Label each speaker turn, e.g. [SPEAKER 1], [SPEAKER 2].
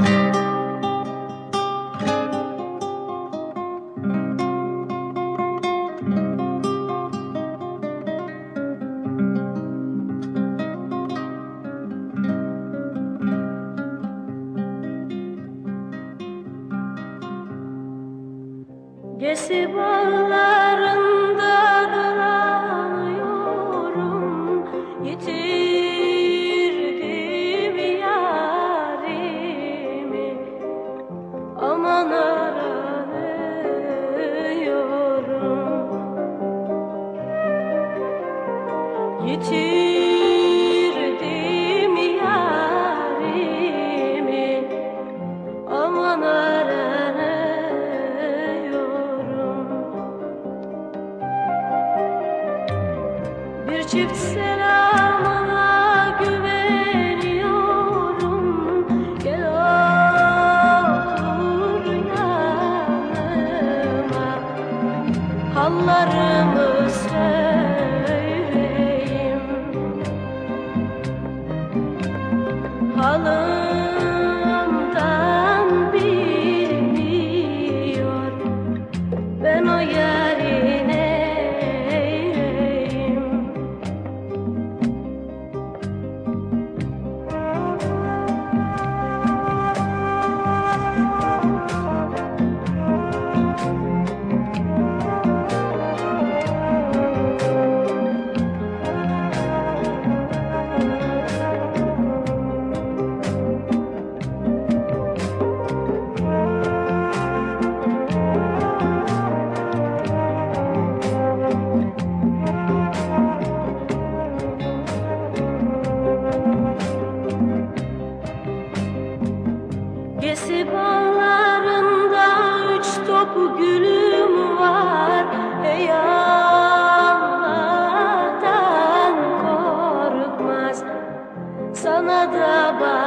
[SPEAKER 1] Gezi bağlarında dolanıyorum, yitirdim yarimi, aman aranıyorum. Yitirdim yarimi, aman aranıyorum. Bir çift selamına güveniyorum, gel otur yanıma, hallarımı söyleyeyim. Halımdan bilmiyor, ben o yarine Gezi bağlarında 3 top gülüm var, ey Allah'tan korkmaz, sana da bak.